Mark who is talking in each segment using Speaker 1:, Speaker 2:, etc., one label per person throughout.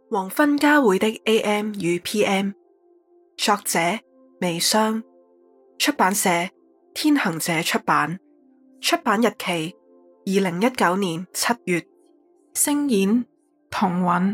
Speaker 1: 黃昏交匯的 AM 與 PM， 作者微霜，出版社天行者出版，出版日期2019年7月，聲演童韻。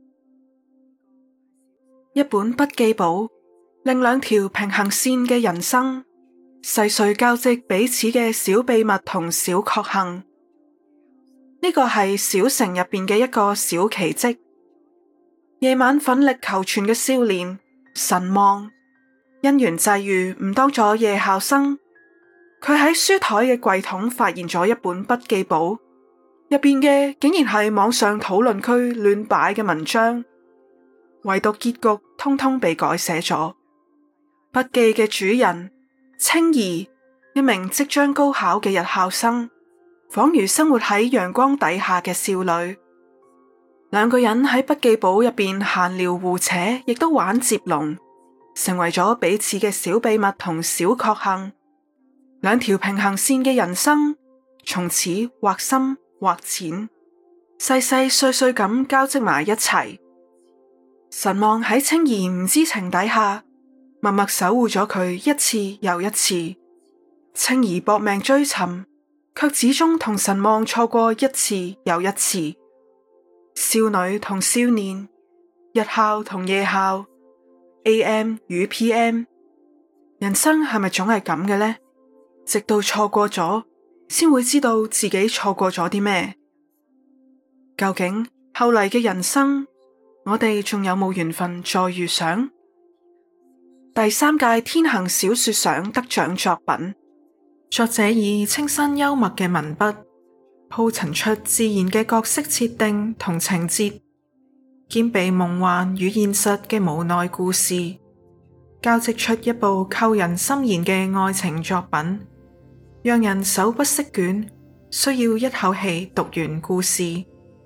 Speaker 1: 一本筆記簿，令兩條平行線嘅人生細碎交織彼此嘅小秘密同小確幸。呢個係小城入邊嘅一個小奇蹟。夜晚奮力求存嘅少年神望，因緣際遇誤當咗夜校生。佢喺書台嘅櫃桶發現咗一本筆記簿，入邊嘅竟然係網上討論區亂擺嘅文章，唯獨結局通通被改寫咗。筆記嘅主人青兒，一名即將高考嘅日校生，仿如生活喺陽光底下嘅少女。兩個人喺筆記簿入邊閒聊互扯，亦都玩接龍，成為咗彼此嘅小秘密同小確幸。兩條平行線嘅人生，從此或深或淺，細細碎碎咁交織埋一齊。神望喺青兒唔知情底下，默默守護咗佢一次又一次。青兒搏命追尋，卻始終同神望錯過一次又一次。少女同少年，日校同夜校， AM 與 PM， 人生係咪總係咁嘅呢？直到錯過咗，先會知道自己錯過咗啲咩。究竟後嚟嘅人生，我哋仲有冇緣分再遇上？第3屆天行小說獎得獎作品，作者以清新幽默嘅文筆，鋪陳出自然嘅角色設定同情節，兼備夢幻與現實嘅無奈故事，交織出一部扣人心弦嘅愛情作品，讓人手不釋卷，需要一口氣讀完故事。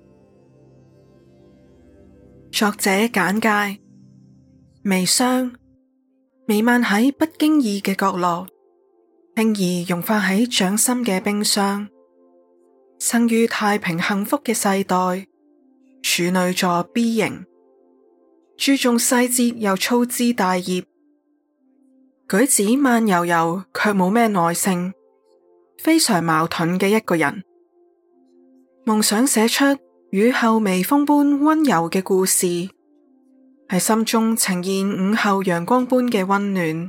Speaker 1: 作者簡介：微霜，彌漫喺不經意嘅角落，輕易融化喺掌心嘅冰霜。生於太平幸福嘅世代，處女座 B 型，注重細節又粗枝大葉，舉止慢悠悠卻冇咩耐性，非常矛盾嘅一個人。夢想寫出雨後微風般溫柔嘅故事，喺心中呈現午後陽光般嘅溫暖。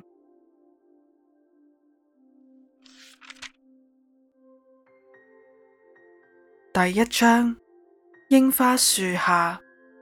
Speaker 1: 第1章，櫻花樹下。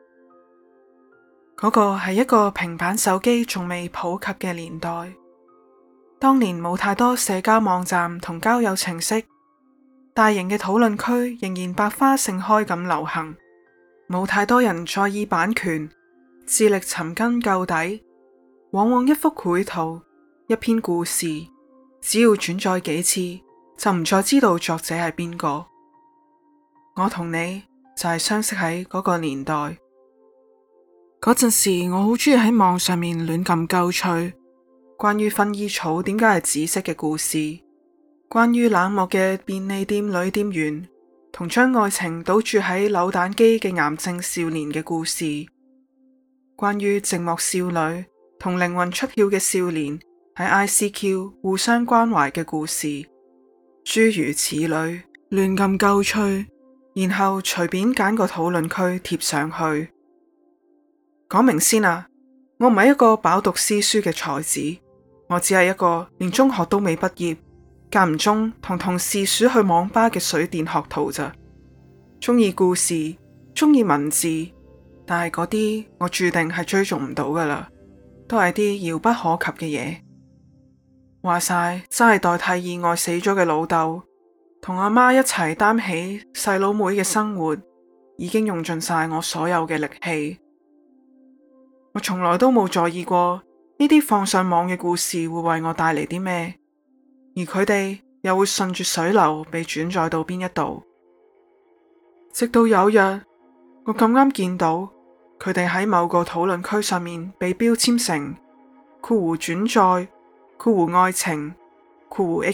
Speaker 1: 嗰個係一個平板手機仲未普及嘅年代，當年冇太多社交網站同交友程式，大型嘅討論區仍然百花盛開咁流行，冇太多人在意版權，致力尋根究底。往往一幅繪圖，一篇故事，只要轉載幾次，就唔再知道作者係邊個。我同你就係相識喺嗰個年代。嗰陣時我好鍾意喺網上面亂撳鳩吹，關於薰衣草點解係紫色嘅故事，關於冷漠嘅便利店女店員同將愛情賭注喺扭蛋機嘅癌症少年嘅故事，關於寂寞少女同靈魂出竅嘅少年喺 ICQ 互相關懷嘅故事，諸如此類，亂撳鳩吹，然後隨便揀個討論區貼上去。講明先啊，我唔係一個飽讀詩書嘅才子，我只係一個連中學都未畢業，間唔中同同事鼠去網吧嘅水電學徒咋。鍾意故事，鍾意文字，但係嗰啲我注定係追逐唔到噶啦，都係啲遙不可及嘅嘢。話晒真係代替意外死咗嘅老豆，同阿媽一齊擔起細佬妹嘅生活，已經用盡晒我所有嘅力氣。我從來都冇在意過呢啲放上網嘅故事會為我帶嚟啲咩，而佢哋又會順住水流被轉載到邊一度。直到有日，我咁啱見到佢哋喺某個討論區上面被標籤成括弧轉載括弧愛情括弧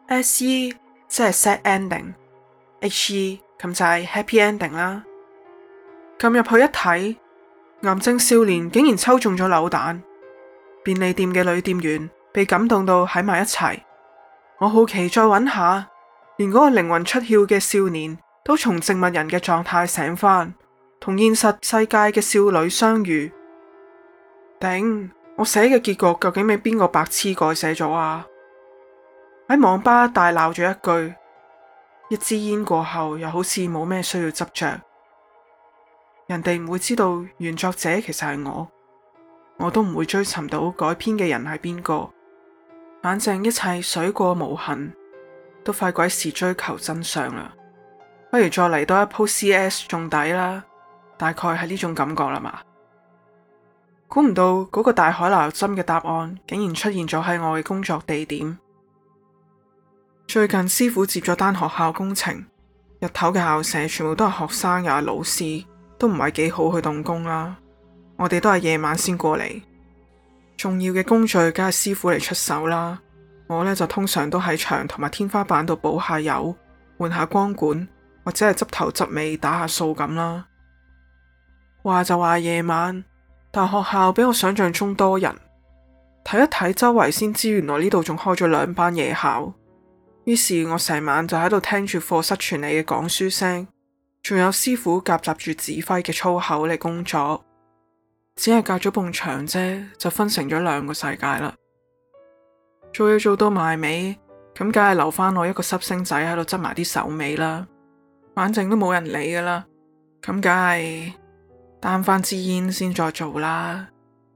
Speaker 1: HE。SE 即係 sad ending，HE 咁就係 happy ending 啦。 撳入去一睇，癌症少年竟然抽中咗扭蛋，便利店嘅女店員被感動到喺埋一齊。我好奇再揾下，連嗰個靈魂出竅嘅少年都從植物人嘅狀態醒返，同現實世界嘅少女相遇。頂，我寫嘅結局究竟俾邊個白痴改寫咗啊？喺網吧大鬧咗一句，一支煙過後又好似冇咩需要執着。人哋唔會知道原作者其實係我都唔會追尋到改編嘅人係邊個。反正一切水過無痕，都費鬼事追求真相啦。不如再嚟多一鋪 CS 仲抵啦，大概係呢種感覺啦嘛。估唔到嗰個大海撈針嘅答案竟然出現咗喺我嘅工作地點。最近師傅接咗單學校工程，日頭嘅校舍全部都係學生又係老師，都唔係幾好去動工啦。我哋都係夜晚先過嚟，重要嘅工序梗係師傅嚟出手啦。我呢就通常都喺牆同埋天花板度補下油，換下光管，或者係執頭執尾打下掃咁啦。話就話夜晚，但學校比我想象中多人。睇一睇周圍先知，原來呢度仲開咗2班夜校。於是我成晚就喺度聽住課室傳嚟嘅講書聲，仲有師傅夾雜住指揮嘅粗口嚟工作。只係隔咗埲牆啫，就分成咗2個世界啦。做嘢做到埋尾，咁梗係留翻我一個濕星仔喺度執埋啲手尾啦。反正都冇人理噶啦，咁梗係擔翻支煙先再做啦。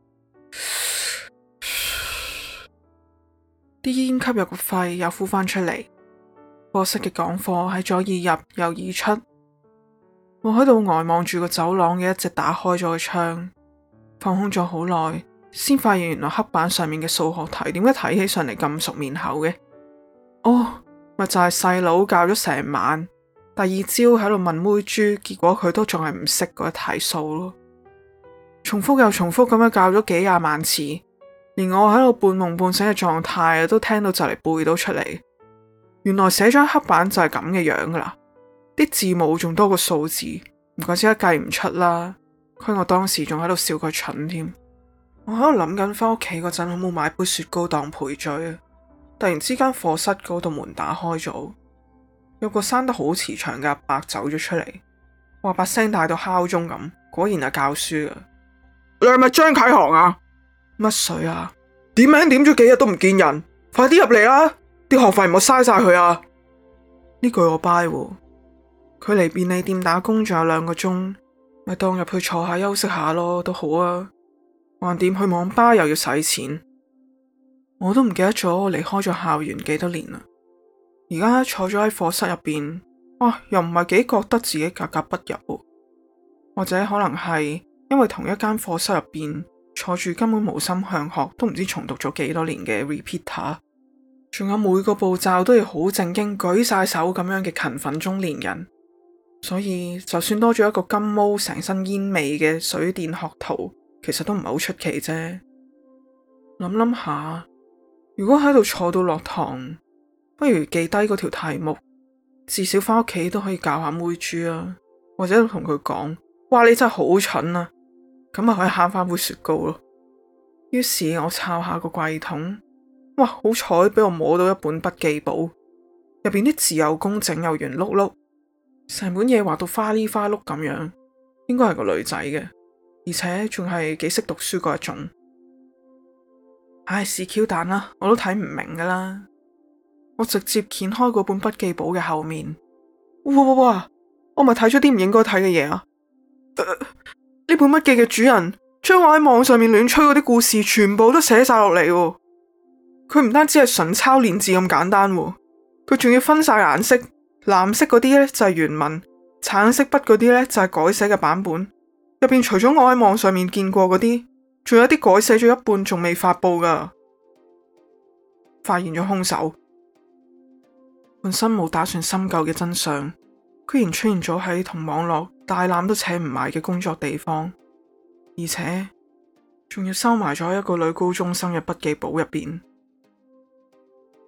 Speaker 1: 啲煙吸入個肺又呼翻出嚟。課室嘅講課喺左耳入右耳出。我喺度呆望住個走廊嘅一隻打開咗嘅窗，放空咗好耐，先發現原來黑板上面嘅數學題點解睇起上嚟咁熟面口嘅？哦，咪就係細佬教咗成晚，第二朝喺度問妹豬，結果佢都仲係唔識嗰一題數咯。重複又重複咁樣教咗幾廿萬次，連我喺度半夢半醒嘅狀態都聽到就嚟背到出嚟。原來寫咗黑板就係咁嘅樣噶啦，啲字母仲多過數字，唔怪之得計唔出啦。虧我當時仲喺度笑佢蠢添。我喺度諗緊翻屋企嗰陣好冇買杯雪糕當賠罪啊！突然之間課室嗰度門打開咗，有個生得好慈祥嘅阿伯走咗出嚟，話把聲大到敲鐘咁，果然係教書啊！你係咪張啟航啊？乜水啊？點名點咗幾日都唔見人，快啲入嚟啦！啲學費唔好嘥晒佢啊！呢句我 buy 喎，佢離便利店打工仲有2個鐘，咪當入去坐下休息下咯，都好啊。橫掂去網吧又要使錢，我都唔記得咗我離開咗校園幾多年啦。而家坐咗喺課室入邊，哇，又唔係幾覺得自己格格不入喎。或者可能係因為同一間課室入邊坐住根本無心向學，都唔知重讀咗幾多年嘅 repeater。仲有每個步驟都要好正經舉晒手咁樣嘅勤奮中年人，所以就算多咗一個金毛成身煙味嘅水電學徒，其實都唔係好出奇啫。諗下，如果喺度坐到落堂，不如記低嗰條題目，至少翻屋企都可以教下妹豬啊，或者同佢講，哇，你真係好蠢啊，咁咪可以慳翻杯雪糕咯。於是我抄下個櫃桶。哇！好彩俾我摸到一本筆記簿，入邊啲字又工整又圓碌碌，成本嘢畫到花哩花碌咁樣，應該係個女仔嘅，而且仲係幾識讀書嗰一種。唉，是 Q 彈啦，我都睇唔明噶啦。我直接掀開嗰本筆記簿嘅後面，哇！我咪睇咗啲唔應該睇嘅嘢啊！呢本筆記嘅主人將我喺網上面亂吹嗰啲故事全部都寫晒落嚟喎。佢唔單止係純抄練字咁簡單，佢仲要分晒顏色，藍色嗰啲呢就係原文，橙色筆嗰啲呢就係改寫嘅版本。入邊除咗我喺網上面見過嗰啲，仲有啲改寫咗一半仲未發佈噶。發現咗兇手，本身冇打算深究嘅真相，居然出現咗喺同網絡大纜都扯唔埋嘅工作地方，而且仲要收埋咗喺一個女高中生嘅筆記簿入邊。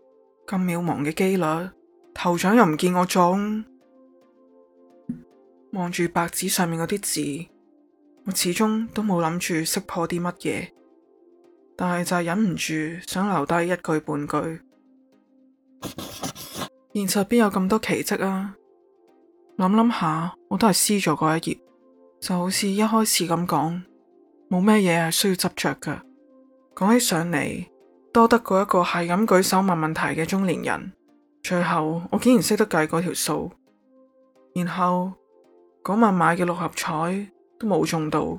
Speaker 1: 咁渺茫嘅機率，頭獎又唔見我中。 望住白紙上面嗰啲字，我始終都冇諗住識破啲乜嘢，但係就係忍唔住想留低一句半句。現實邊有咁多奇蹟啊？諗下，我都係撕咗嗰一頁，就好似一開始咁講，冇咩嘢係需要執着㗎。講起上嚟，多得過一個係咁舉手問問題嘅中年人，最後我竟然識得計嗰條數，然後嗰晚買嘅六合彩都冇中到。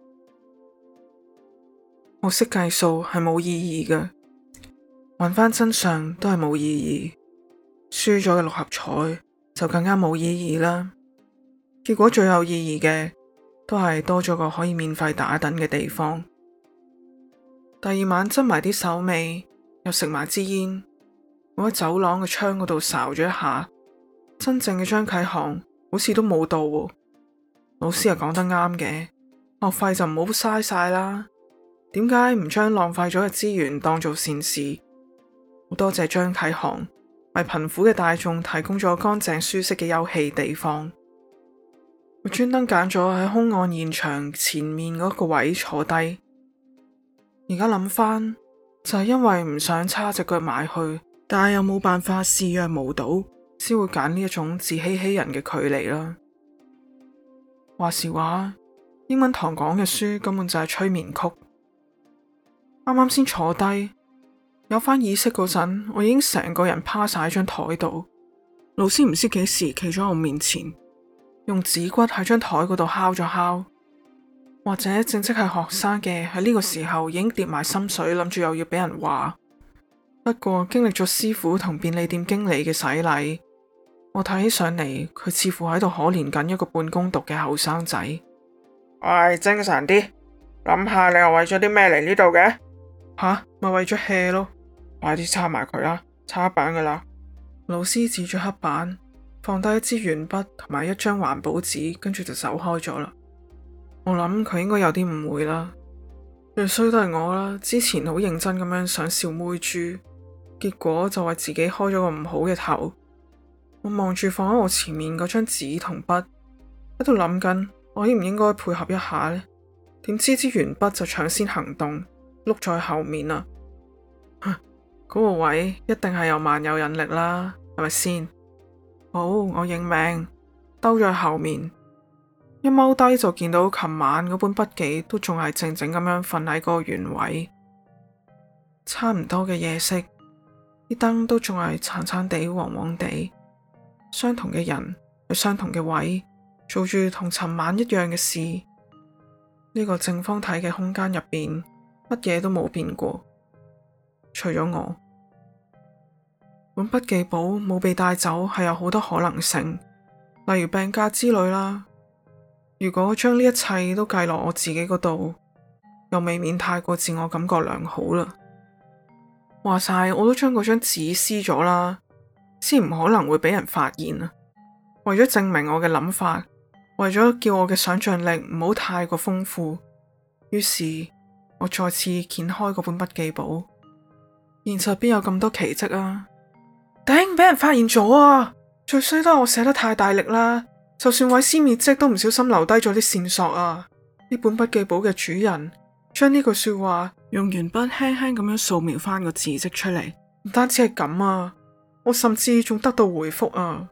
Speaker 1: 我識計數係冇意義嘅，揾翻真相都係冇意義。輸咗嘅六合彩就更加冇意義啦。結果最有意義嘅都係多咗個可以免費打躉嘅地方。第二晚執埋啲手尾，又食埋支煙，我喺走廊嘅窗嗰度睄咗一下，真正嘅張啟航好似都冇到喎。老師又講得啱嘅，學費就唔好嘥晒啦。點解唔將浪費咗嘅資源當做善事？好多謝張啟航，為貧苦嘅大眾提供咗乾淨舒適嘅休憩地方。我專登揀咗喺兇案現場前面嗰個位坐低。而家諗翻，就係因為唔想叉隻腳埋去，但係又冇辦法視若無睹，先會揀呢一種自欺欺人嘅距離啦。話時話，英文堂講嘅書根本就係催眠曲。啱啱先坐低，有翻意識嗰陣，我已經成個人趴晒喺張台度。老師唔知幾時企咗我面前，用指骨喺張台嗰度敲咗敲。或者正職係學生嘅喺呢個時候已經跌埋心水，諗住又要俾人話。不過經歷咗師傅同便利店經理嘅洗禮，我睇起上嚟佢似乎喺度可憐緊一個半工讀嘅後生仔。
Speaker 2: 喂，精神啲，諗下你又為咗啲咩嚟呢度嘅？
Speaker 1: 吓，咪為咗 hea 咯。
Speaker 2: 快啲擦埋佢啦，擦板噶啦。
Speaker 1: 老師指住黑板，放低一支鉛筆同埋一張環保紙，跟住就走開咗啦。我諗佢應該有啲誤會啦，最衰都係我啦。之前好認真咁樣想笑妹豬，結果就為自己開咗個唔好嘅頭。我望住放喺我前面嗰張紙同筆，喺度諗緊我應唔應該配合一下呢？點知支鉛筆就搶先行動，碌在後面啦。嗰個位一定係有萬有引力啦，係咪先？好，我認命，兜咗後面。一踎低就見到琴晚嗰本筆記都仲係靜靜咁樣瞓喺嗰個原位，差唔多嘅夜色，啲燈都仲係殘殘地、黃黃地，相同嘅人喺相同嘅位，做住同尋晚一樣嘅事。呢個正方體嘅空間入邊，乜嘢都冇變過，除咗我。本筆記簿冇被帶走係有好多可能性，例如病假之類啦。如果將呢一切都計落我自己嗰度，又未免太過自我感覺良好啦。話晒我都將嗰張紙撕咗啦，先唔可能會俾人發現啊。為咗證明我嘅諗法，為咗叫我嘅想象力唔好太過豐富，於是我再次掀開嗰本筆記簿。現實邊有咁多奇蹟啊？頂，俾人發現咗啊！最衰都係我寫得太大力啦。就算毀屍滅跡都唔小心留低咗啲線索啊！呢本筆記簿嘅主人將呢句說話用鉛筆輕輕咁樣掃描翻個字跡出嚟，唔單止係咁啊，我甚至仲得到回覆啊！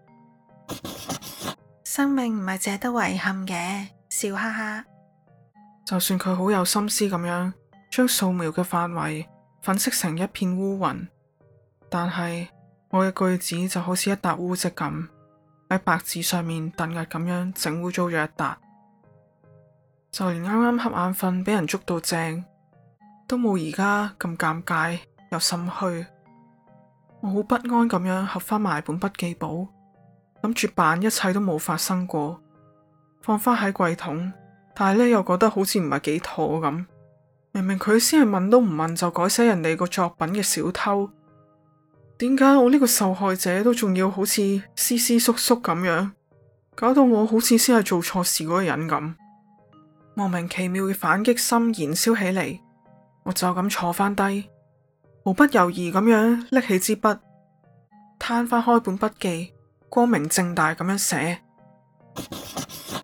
Speaker 3: 生命唔係淨係得遺憾嘅，笑哈哈。
Speaker 1: 就算佢好有心思咁樣將掃描嘅範圍粉飾成一片烏雲，但係我嘅句子就好似一笪污漬咁。喺白紙上面突兀咁樣整污糟咗一笪，就連啱啱瞌眼瞓俾人捉到正，都冇而家咁尷尬又心虛。我好不安咁樣合翻埋本筆記簿，諗住扮一切都冇發生過，放翻喺櫃桶，但係呢又覺得好似唔係幾妥咁。明明佢先係問都唔問就改寫人哋個作品嘅小偷。點解我呢個受害者都仲要好似斯斯縮縮咁樣，搞到我好似先係做錯事嗰個人咁？莫名其妙嘅反擊心燃燒起嚟，我就咁坐翻低，毫不猶豫咁樣拎起支筆，攤翻開本筆記，光明正大咁樣寫。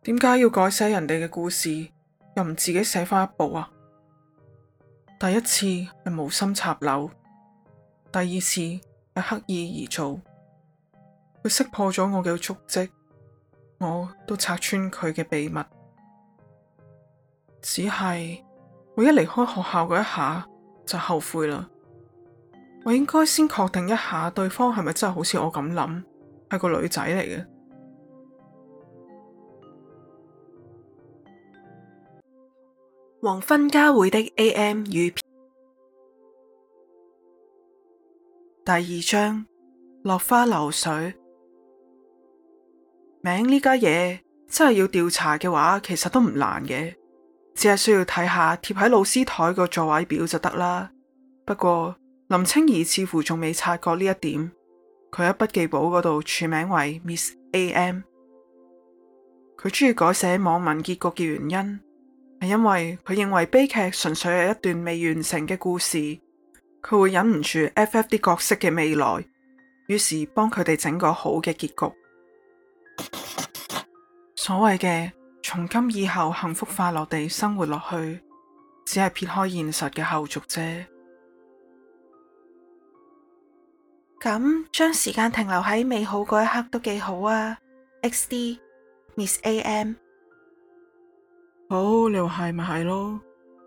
Speaker 2: 點解要改寫人哋嘅故事，又唔自己寫返一部啊？第一次係無心插柳，第二次係刻意而做。佢識破咗我嘅足跡，我都拆穿佢嘅秘密。只係我一離開學校嗰一下就後悔啦。我應該先確定一下對方係咪真係好似我咁諗，係個女仔嚟嘅。
Speaker 1: 黃昏交匯的 AM 與 PM。 第二章，落花流水。名呢家嘢真係要調查嘅話，其實都唔難嘅，只係需要睇下貼喺老師台個座位表就得啦。不過林清儀似乎仲未察覺呢一點，佢喺筆記簿嗰度署名為 Miss AM。 佢中意改寫網民結局嘅原因係因為佢認為悲劇純粹係一段未完成嘅故事，佢會忍唔住 FF 啲角色嘅未來，於是幫佢哋整個好嘅結局。所謂嘅從今以後幸福快樂地生活落去，只係撇開現實嘅後續啫。
Speaker 3: 咁將時間停留喺美好嗰一刻都幾好啊。XD Miss AM。
Speaker 2: 好，你話係咪係咯？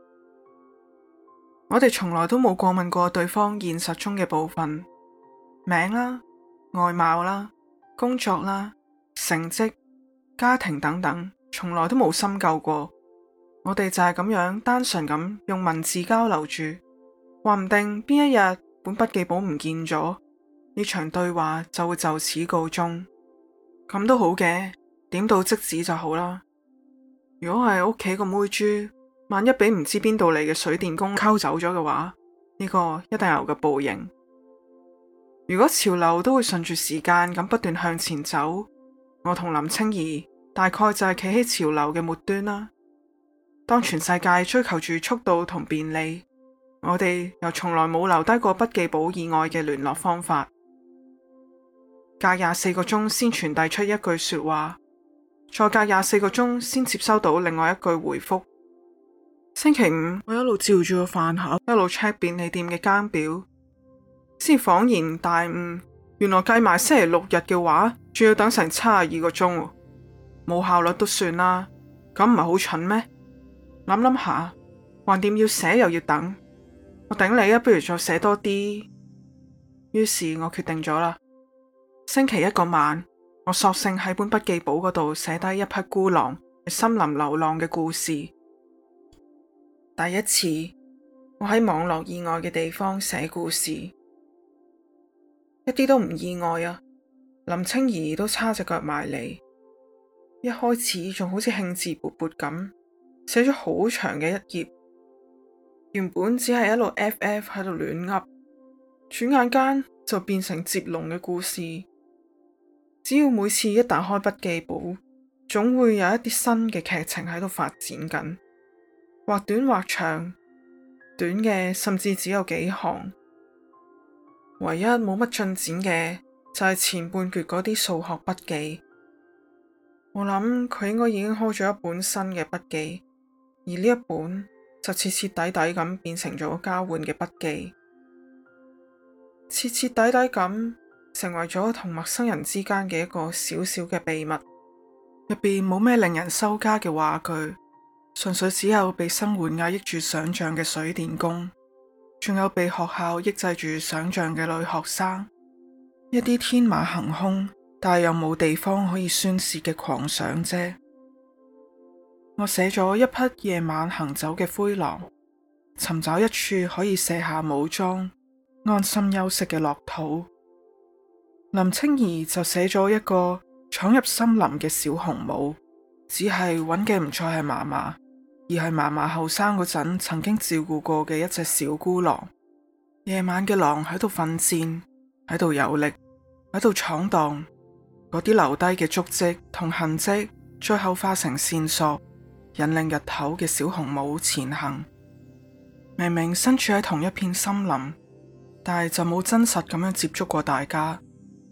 Speaker 2: 我哋從來都冇過問過對方現實中嘅部分，名啦、外貌啦、工作啦、成績、家庭等等，從來都冇深究過。我哋就係咁樣單純咁用文字交流住，話唔定邊一日本筆記簿唔見咗，呢場對話就會就此告終。咁都好嘅，點到即止就好啦。如果係屋企個妹豬，萬一俾唔知邊度嚟嘅水電工溝走咗嘅話，呢個一定有個報應。如果潮流都會順住時間咁不斷向前走，我同林清儀大概就係企喺潮流嘅末端啦。當全世界追求住速度同便利，我哋又從來冇留低過筆記簿以外嘅聯絡方法。隔24個鐘先傳遞出一句說話，再隔24個鐘先接收到另外一句回覆。星期五我一路照住個飯盒，一路 check 便利店嘅更表，先恍然大悟，原來計埋星期六日嘅話，仲要等成72個鐘，冇效率都算啦，咁唔係好蠢咩？諗諗下，橫掂要寫又要等，我頂你啊，不如再寫多啲。於是我決定咗啦，星期一個晚，我索性喺本筆記簿嗰度寫低一匹孤狼喺森林流浪嘅故事。第一次，我喺網絡以外嘅地方寫故事，一啲都唔意外啊！林清儀都叉隻腳埋嚟，一開始仲好似興致勃勃咁寫咗好長嘅一頁，原本只係一路 FF 喺度亂噏，轉眼間就變成接龍嘅故事。只要每次一打開筆記簿，總會有一啲新嘅劇情喺度發展緊，或短或長，短嘅甚至只有幾行。唯一冇乜進展嘅就係前半段嗰啲數學筆記。我諗佢應該已經開咗一本新嘅筆記，而呢一本就徹徹底底咁變成咗交換嘅筆記，徹徹底底咁成為咗同陌生人之間嘅一個小小嘅秘密。入邊冇咩令人收家嘅話句，純粹只有被生活壓抑住想象嘅水電工，仲有被學校抑制住想象嘅女學生，一啲天馬行空但又冇地方可以宣洩嘅狂想啫。我寫咗一匹夜晚行走嘅灰狼，尋找一處可以卸下武裝安心休息嘅樂土。林清儀就寫咗一個闖入森林嘅小紅帽，只係揾嘅唔再係嫲嫲，而係嫲嫲後生嗰陣曾經照顧過嘅一隻小孤狼。夜晚嘅狼喺度奮戰，喺度遊歷，喺度闖蕩，嗰啲留低嘅足跡同痕跡，最後化成線索，引領日頭嘅小紅帽前行。明明身處喺同一片森林，但係就冇真實咁樣接觸過大家。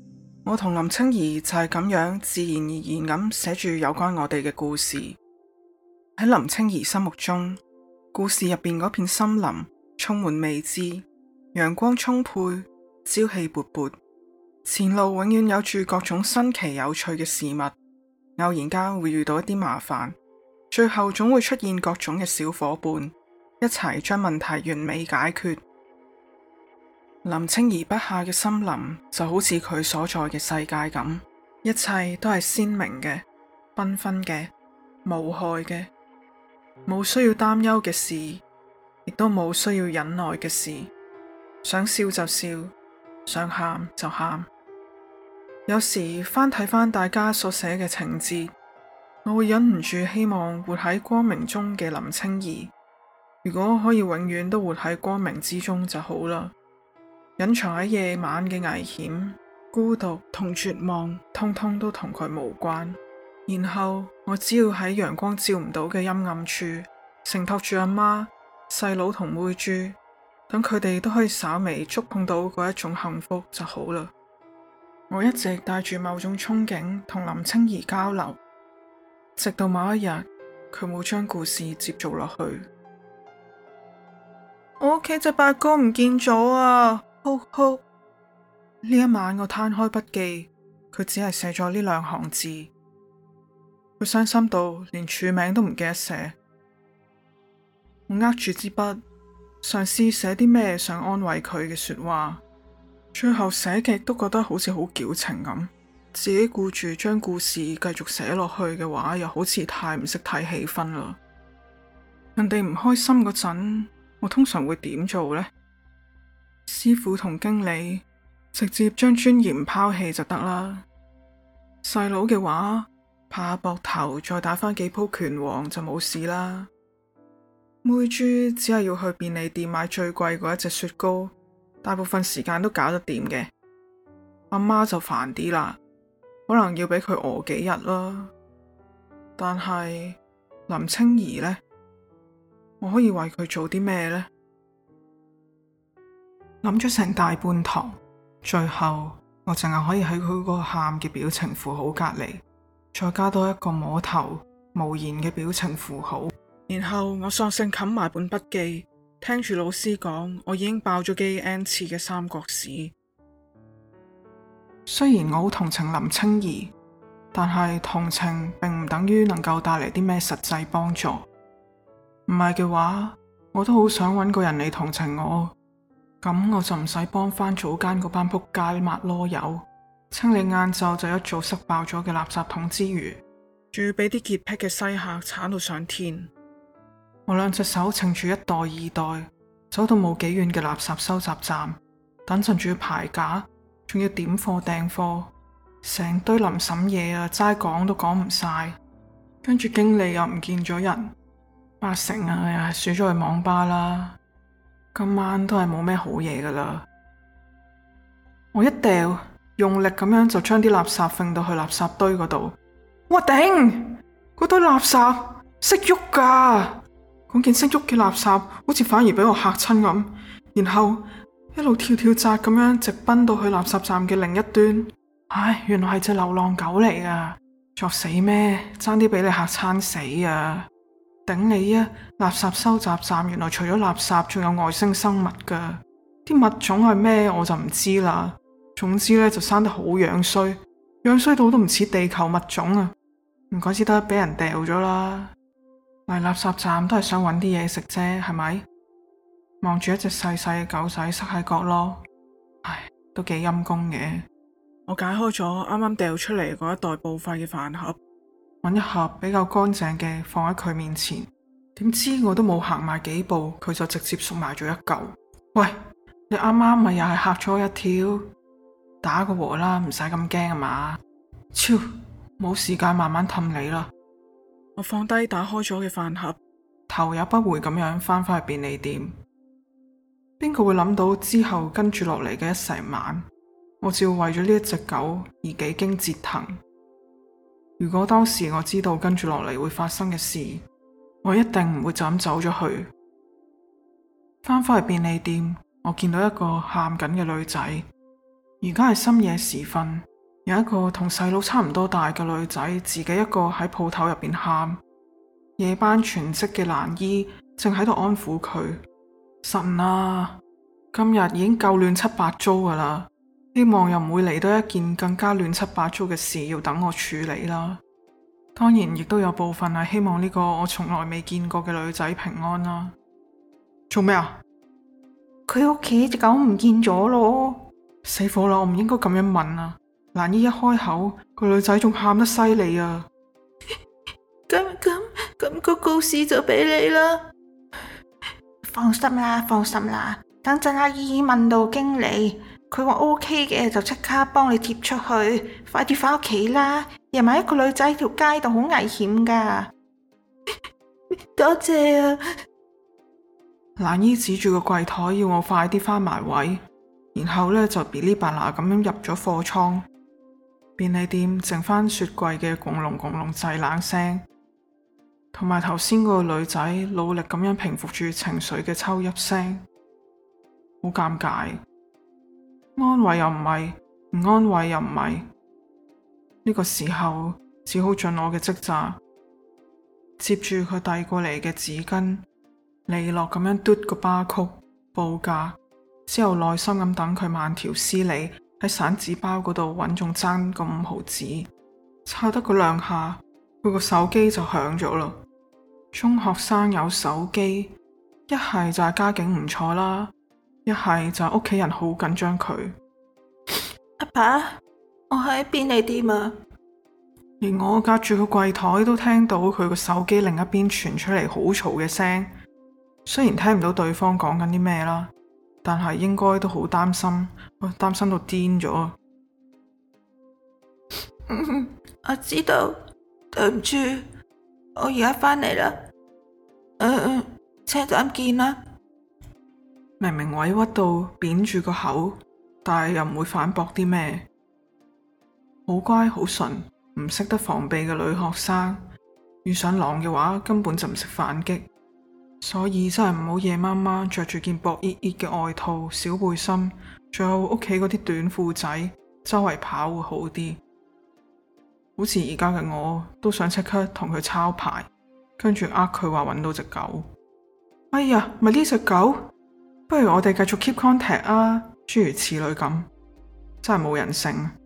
Speaker 2: 我同林清儀就係咁樣自然而然咁寫住有關我哋嘅故事。喺林清儀心目中，故事入邊嗰片森林充滿未知，陽光充沛，朝氣勃勃，前路永遠有住各種新奇有趣嘅事物，偶然間會遇到一啲麻煩，最後總會出現各種嘅小夥伴，一齊將問題完美解決。林清儀筆下嘅森林就好似佢所在嘅世界咁，一切都係鮮明嘅、繽紛嘅、無害嘅，冇需要擔憂嘅事，亦都冇需要忍耐嘅事。想笑就笑，想喊就喊。有時翻睇翻大家所寫嘅情節，我會忍唔住希望活喺光明中嘅林清儀，如果可以永遠都活喺光明之中就好啦。隱藏喺夜晚嘅危險、孤獨同絕望，通通都同佢無關。然後我只要喺陽光照唔到嘅陰暗處，承托住阿媽、細佬同妹豬，等佢哋都可以稍微觸碰到嗰一種幸福就好啦。我一直帶住某種憧憬同林清儀交流，直到某一日，佢冇將故事接續落去。我屋企隻八哥唔見咗啊！哭哭。呢一晚我攤開筆記，佢只係寫咗呢2行字。佢傷心到連署名都唔記得寫。我握住支筆，嘗試寫啲咩想安慰佢嘅說話，最後寫極都覺得好似好矯情咁。自己顧住將故事繼續寫落去嘅話，又好似太唔識睇氣氛啦。人哋唔開心嗰陣，我通常會點做呢？師傅同經理直接將尊嚴拋棄就得啦。細佬嘅話，拍下膊頭再打返幾鋪拳王就冇事啦。妹豬只係要去便利店買最貴嗰一隻雪糕，大部分時間都搞得掂嘅。阿媽就煩啲啦，可能要俾佢餓幾日啦。但係林清儀呢？我可以為佢做啲咩呢？諗咗成大半堂，最後我淨係可以喺佢嗰個喊嘅表情符號隔籬，再加多一個摸頭無言嘅表情符號。然後我索性冚埋本筆記，聽住老師講我已經爆咗機 N 次嘅三國史。雖然我好同情林清儀，但係同情並唔等於能夠帶嚟啲咩實際幫助。唔係嘅話，我都好想揾個人嚟同情我，咁我就唔使幫翻早間嗰班仆街抹囉柚，清理晏晝就一早塞爆咗嘅垃圾桶之餘，仲要俾啲潔癖嘅西客鏟到上天。我2隻手撐住1袋2袋，走到冇幾遠嘅垃圾收集站，等陣仲要排架，仲要點貨訂貨，成堆臨審嘢啊，齋講都講唔晒。跟住經理又唔見咗人。8成啊，又係輸咗去網吧啦。今晚都係冇咩好嘢噶啦。我一掉，用力咁樣就將啲垃圾揈到去垃圾堆嗰度。哇頂！嗰堆垃圾識喐噶，嗰件識喐嘅垃圾好似反而俾我嚇親咁，然後一路跳跳扎咁樣直奔到去垃圾站嘅另一端。唉，原來係隻流浪狗嚟噶，作死咩？爭啲俾你嚇餐死啊！頂你啊！垃圾收集站原來除咗垃圾仲有外星生物噶，啲物種係咩我就唔知啦。總之呢，就生得好樣衰，樣衰到都唔似地球物種啊！唔怪之得俾人掉咗啦。嚟垃圾站都係想揾啲嘢食啫，係咪？望住一隻細細嘅狗仔塞喺角落，唉，都幾陰功嘅。我解開咗啱啱掉出嚟嗰一袋報廢嘅飯盒，揾一盒比較乾淨嘅放喺佢面前，點知我都冇行埋幾步，佢就直接縮埋咗一嚿。喂，你啱啱咪又係嚇咗我一跳？打個和啦，唔使咁驚啊嘛。超，冇時間慢慢氹你啦。我放低打開咗嘅飯盒，頭也不回咁樣翻返去便利店。邊個會諗到之後跟住落嚟嘅一成晚，我只要為咗呢一隻狗而幾經折騰。如果當時我知道跟住落嚟會發生嘅事，我一定唔會就咁走咗去。翻返去便利店，我見到一個喊緊嘅女仔。而家係深夜時分， 有一個同細佬差唔多大嘅女仔，自己一個喺鋪頭入邊喊。夜班全職嘅蘭姨正喺度安撫佢：神啊，今日已經夠亂七八糟噶啦，希望又唔會嚟到一件更加亂七八糟嘅事要等我處理啦。當然亦都有部分係希望呢個我從來未見過嘅女仔平安啦。做咩啊？
Speaker 3: 佢屋企隻狗唔見咗咯！
Speaker 2: 死火啦！我唔應該咁樣問啊！蘭姨一開口，個女仔仲喊得犀利啊！
Speaker 3: 咁個告示就俾你啦。放心啦，等陣阿姨問到經理，佢話 OK 嘅就即刻幫你貼出去，快啲返屋企啦！夜晚一個女仔喺條街度好危險噶。多謝啊！
Speaker 2: 蘭姨指住個櫃台要我快啲返埋位，然後呢，就噼哩啪啦咁樣入咗貨倉。便利店剩翻雪櫃嘅轟隆轟隆製冷聲，同埋頭先個女仔努力咁樣平復住情緒嘅抽泣聲，好尷尬。安慰又唔係，唔安慰又唔係。呢個時候只好盡我嘅職責，接住佢遞過嚟嘅紙巾，利落咁樣嘟個巴曲報價，之後耐心咁等佢慢條斯理喺散紙包嗰度揾中爭個5毫紙，抄得嗰兩下，佢個手機就響咗啦。中學生有手機，一係就係家境唔錯啦，一係就係屋企人好緊張佢。
Speaker 3: 阿爸，我喺便利店啊！
Speaker 2: 連我隔住個櫃台都聽到佢個手機另一邊傳出嚟好嘈嘅聲，雖然聽唔到對方講緊啲咩啦，但係應該都好擔心，擔心到癲咗。
Speaker 3: 我知道，對唔住，我而家返嚟啦。車站見啦。
Speaker 2: 明明委屈到扁住個口，但係又唔會反駁啲咩，好乖好純，唔識得防備嘅女學生，遇上狼嘅話根本就唔識反擊。所以真係唔好夜媽媽着住件薄熱熱嘅外套、小背心，仲有屋企嗰啲短褲仔，周圍跑會好啲。好似而家嘅我，都想即刻同佢抄牌，跟住佢話揾到隻狗。哎呀，咪呢隻狗？不如我哋繼續 keep contact 啊，諸如此類咁，真係冇人性。